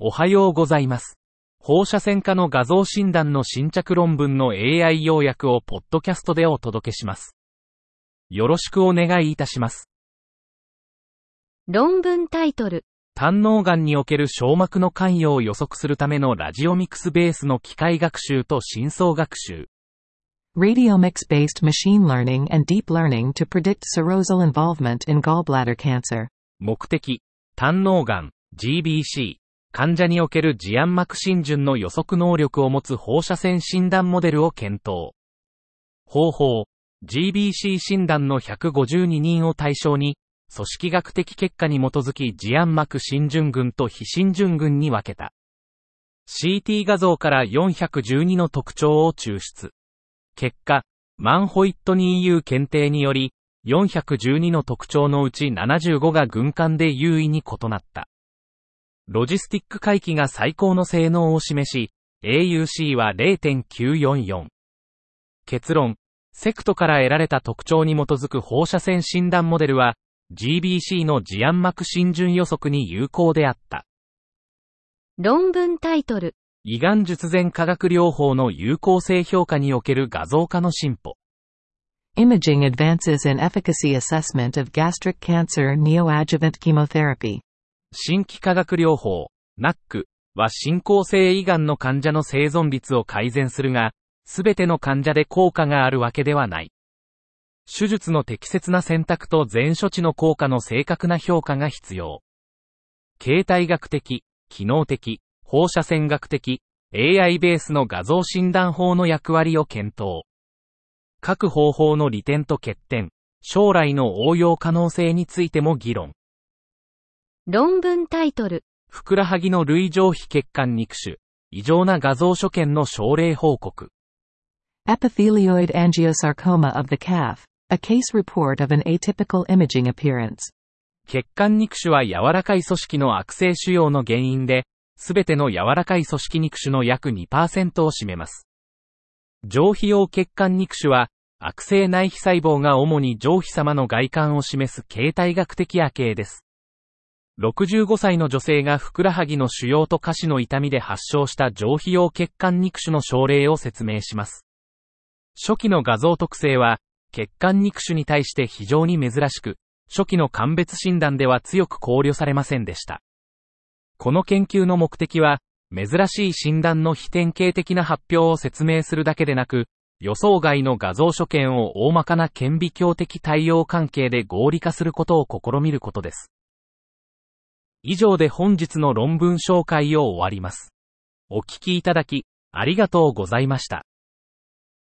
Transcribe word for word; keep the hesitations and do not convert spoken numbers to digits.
おはようございます。放射線科の画像診断の新着論文の エーアイ 要約をポッドキャストでお届けします。よろしくお願いいたします。 論文タイトル。 胆のうがんにおける小膜の関与を予測するためのラジオミクスベースの機械学習と深層学習。 Radiomics-based machine learning and deep learning to predict serosal involvement in gallbladder cancer. 目的、胆のうがん、ジービーシー、患者におけるジアン膜浸潤の予測能力を持つ放射線診断モデルを検討。方法、ジービーシー 診断のひゃくごじゅうににんを対象に、組織学的結果に基づきジアン膜浸潤群と非浸潤群に分けた。シーティー 画像からよんひゃくじゅうにの特徴を抽出。結果、マンホイットニー ユー 検定により、よんひゃくじゅうにの特徴のうちななじゅうごが群間で優位に異なった。ロジスティック回帰が最高の性能を示し、エーユーシー は れいてんきゅうよんよん。結論、セクトから得られた特徴に基づく放射線診断モデルは、ジービーシー のジアン膜浸潤予測に有効であった。 論文タイトル。 胃がん術前化学療法の有効性評価における画像化の進歩。 Imaging advances in efficacy assessment of gastric cancer neoadjuvant chemotherapy. 新規化学療法、ナック は進行性胃がんの患者の生存率を改善するが、すべての患者で効果があるわけではない。手術の適切な選択と全処置の効果の正確な評価が必要。形態学的、機能的、放射線学的、エーアイ ベースの画像診断法の役割を検討。各方法の利点と欠点、将来の応用可能性についても議論。 論文タイトル。 ふくらはぎの類上皮血管肉腫、異常な画像所見の症例報告。 Epithelioid angiosarcoma of the calf, a case report of an atypical imaging appearance. 血管肉腫は柔らかい組織の悪性腫瘍の原因で、すべての柔らかい組織肉腫の約 にパーセント を占めます。上皮用血管肉腫は、悪性内皮細胞が主に上皮様の外観を示す形態学的亜形です。ろくじゅうごさいの女性がふくらはぎの腫瘍と下肢の痛みで発症した上皮用血管肉腫の症例を説明します。初期の画像特性は、血管肉腫に対して非常に珍しく、初期の鑑別診断では強く考慮されませんでした。この研究の目的は、珍しい診断の非典型的な発表を説明するだけでなく、予想外の画像所見を大まかな顕微鏡的対応関係で合理化することを試みることです。以上で本日の論文紹介を終わります。お聞きいただき、ありがとうございました。